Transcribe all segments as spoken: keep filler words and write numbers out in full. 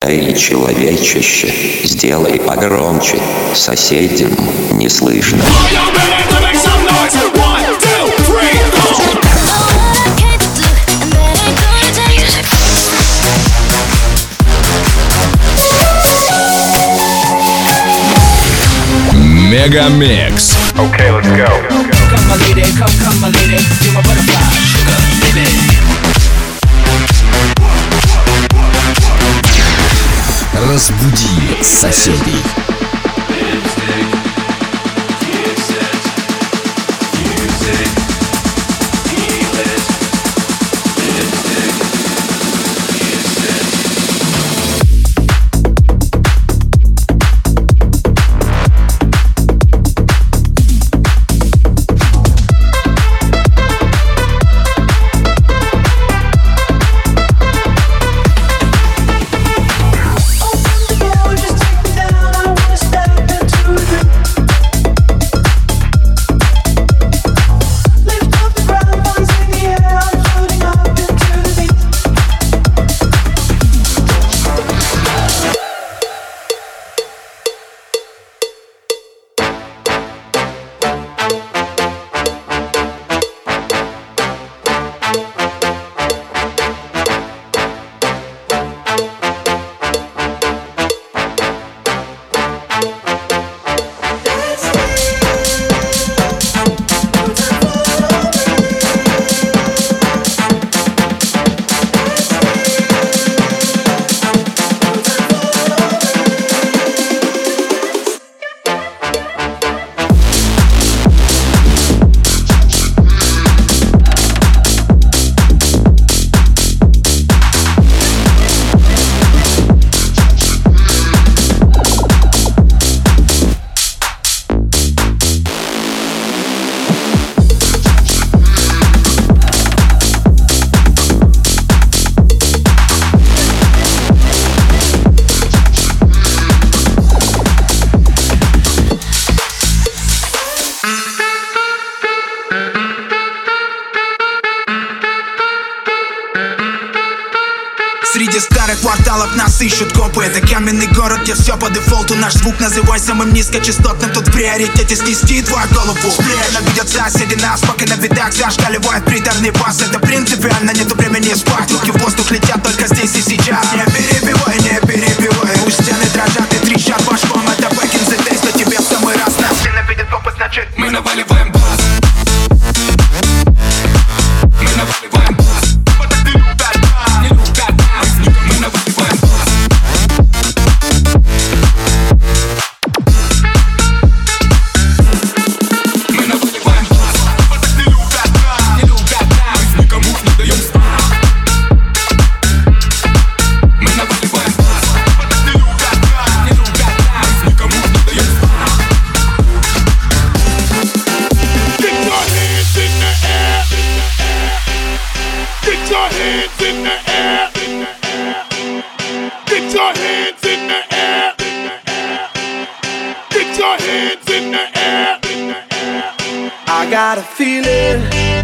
Эй, человечище, сделай погромче, соседям не слышно. Мегамикс. Okay, let's go. Come my lady, come, come my lady, you're my butterfly, sugar, baby. Разбуди соседей. Среди старых кварталов нас ищут копы. Это каменный город, где все по дефолту. Наш звук называй самым низкочастотным. Тут в приоритете снести твою голову. Ненавидят соседи нас, пока на видах зашкаливает приторный бас. Это принципиально, нету времени спать. Руки в воздух летят только здесь и сейчас. Не перебивай, не перебивай. Пусть стены дрожат и трещат башком. Это back in the days, но тебе в самый раз. Нас ненавидят копы, значит мы наваливаем бас. Мы наваливаем бас. Got a feeling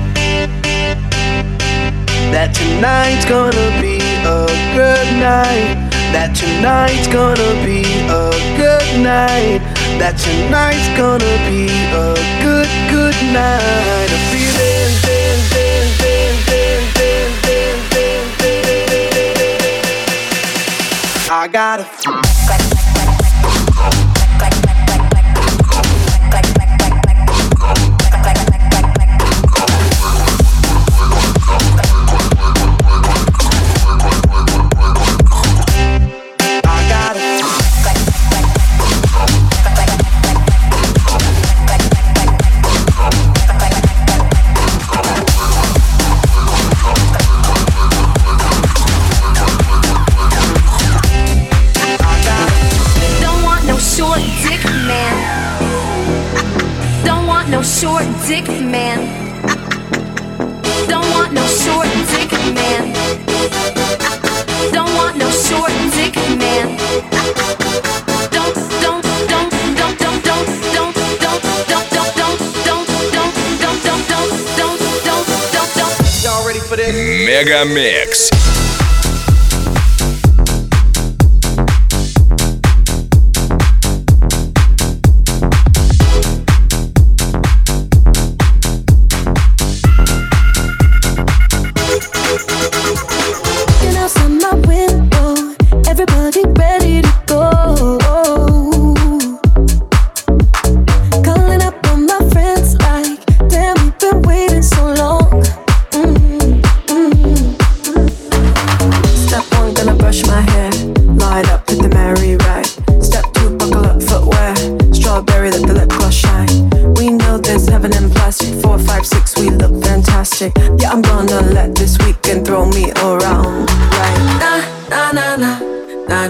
that tonight's gonna be a good night. That tonight's gonna be a good night. That tonight's gonna be a good, good night. A feeling. I got a feeling. Short dick man. Don't want no short dick man. Don't want no short dick man. Don't don't don't don't don't don't don't don't don't don't don't don't don't don't don't don't don't don't. Y'all ready for this? Мегамикс.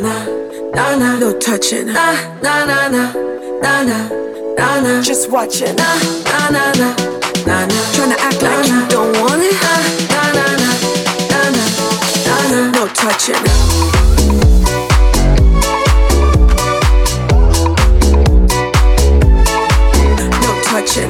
na na, no touching, na na na na, na na na na, just watching, na na na na, na na, tryna act like you don't want it, na na na na, na na na na, no touching. Touching.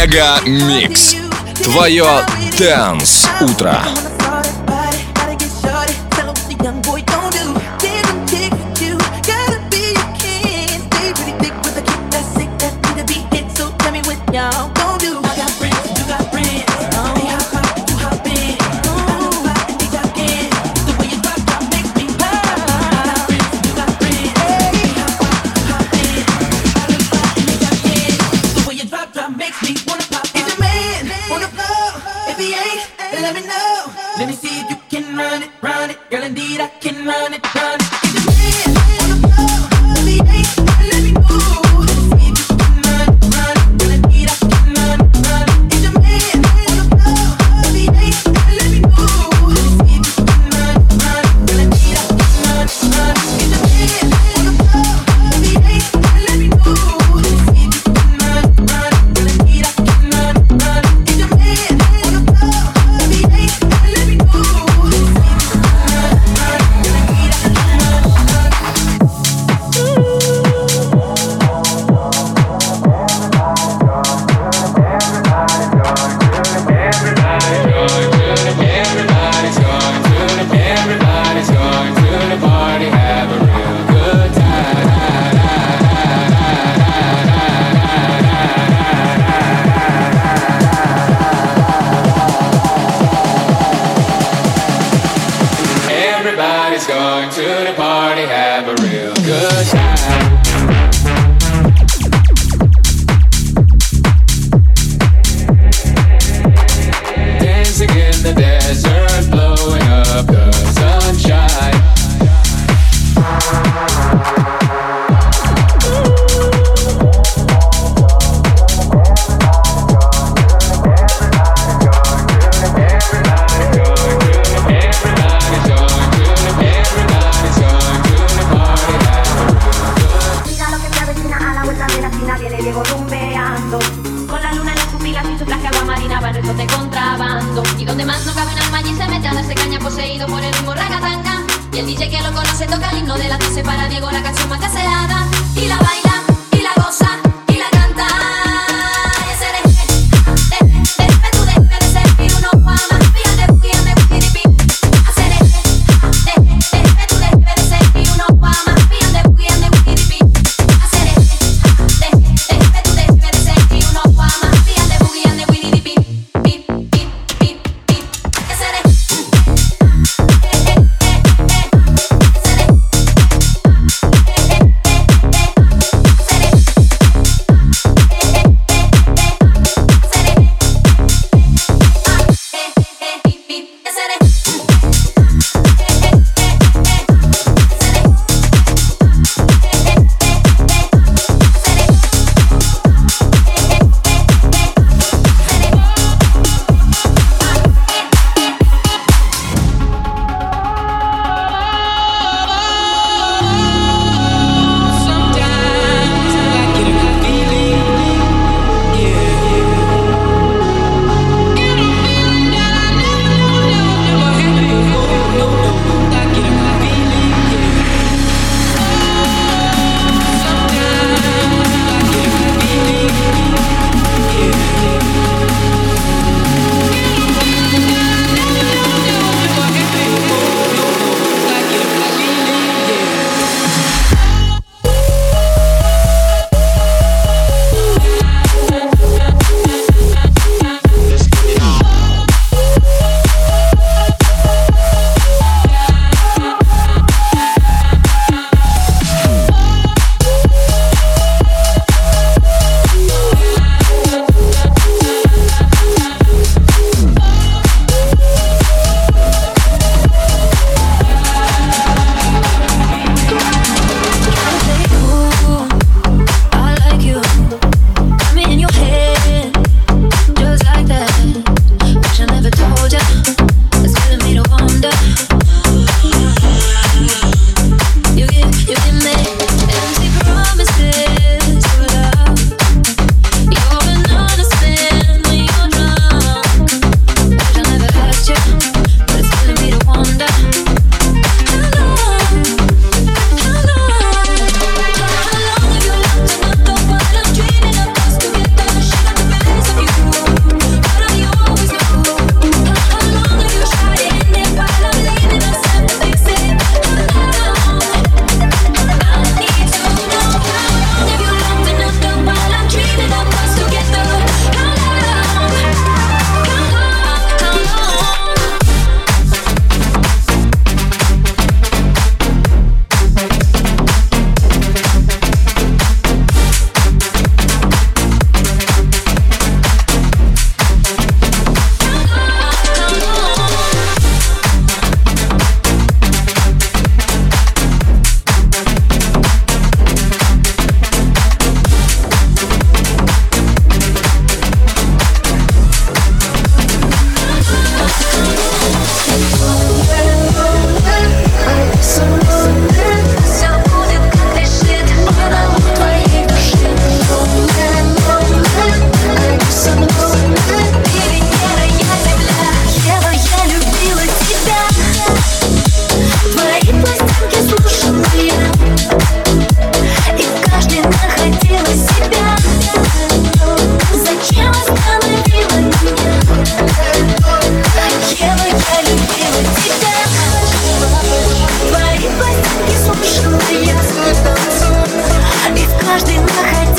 Мега Микс. Твое Dance утро. Everybody's going to the party, have a real good time. Dancing in the desert, blowing up the sunshine. Y donde más no cabe un alma allí se mete a darse caña poseído por el ritmo ragatanga. Y el D J que lo conoce toca el himno de la doce para Diego la canción más deseada. Y la baila, y la goza, y la canta. Y ese deje, deje, deje tú deje de ser uno guama. Fíjate, fíjate, fíjate, hacer deje, deje, deje tú deje de ser uno guama. Fíjate, fíjate, fíjate, hacer deje, deje, deje tú deje de ser uno guama. Fíjate, fíjate, fíjate.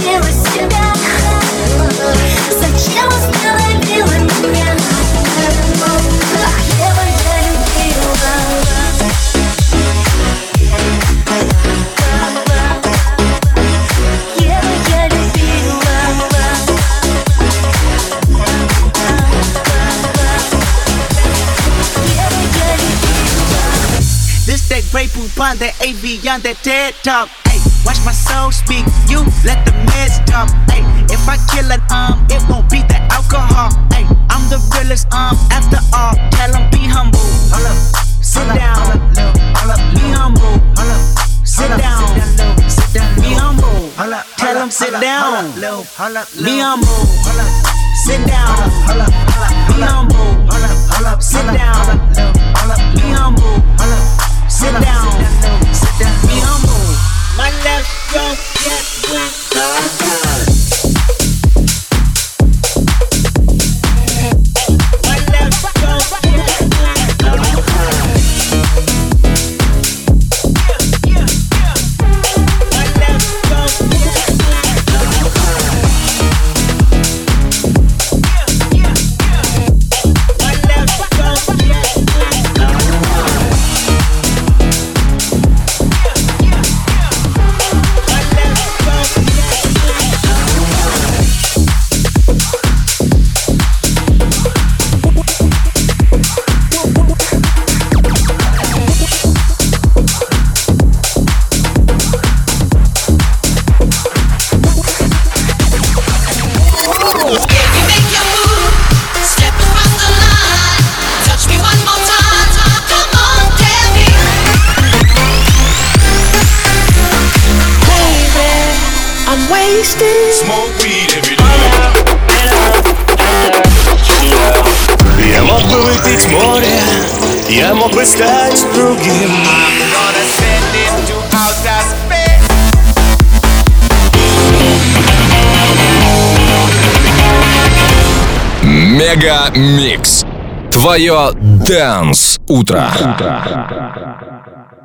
любила себя? Зачем остановила меня? Ева, я любила. Ева, я любила. Ева, я любила. This that Grey Poupon, that A V on that TED Talk. Ay, watch my soul speak, you let the meds talk. Ay, if I kill it, um, it won't be the alcohol. Ay, I'm the realest, um, after all. Tell 'em be humble. Hold up, sit down. Be humble. Sit down. Be humble. Tell 'em sit down. Be humble. Sit down. Be humble. Sit down. Be humble. Sit down. Be humble. My left stroke just went hard. My left stroke just went hard. My left stroke just went hard. My left stroke just went hard. Smoke weed every day. Я мог бы выпить море, я мог бы стать другим. I'm gonna send it to outer space. Мега Микс. Твое Dance утро.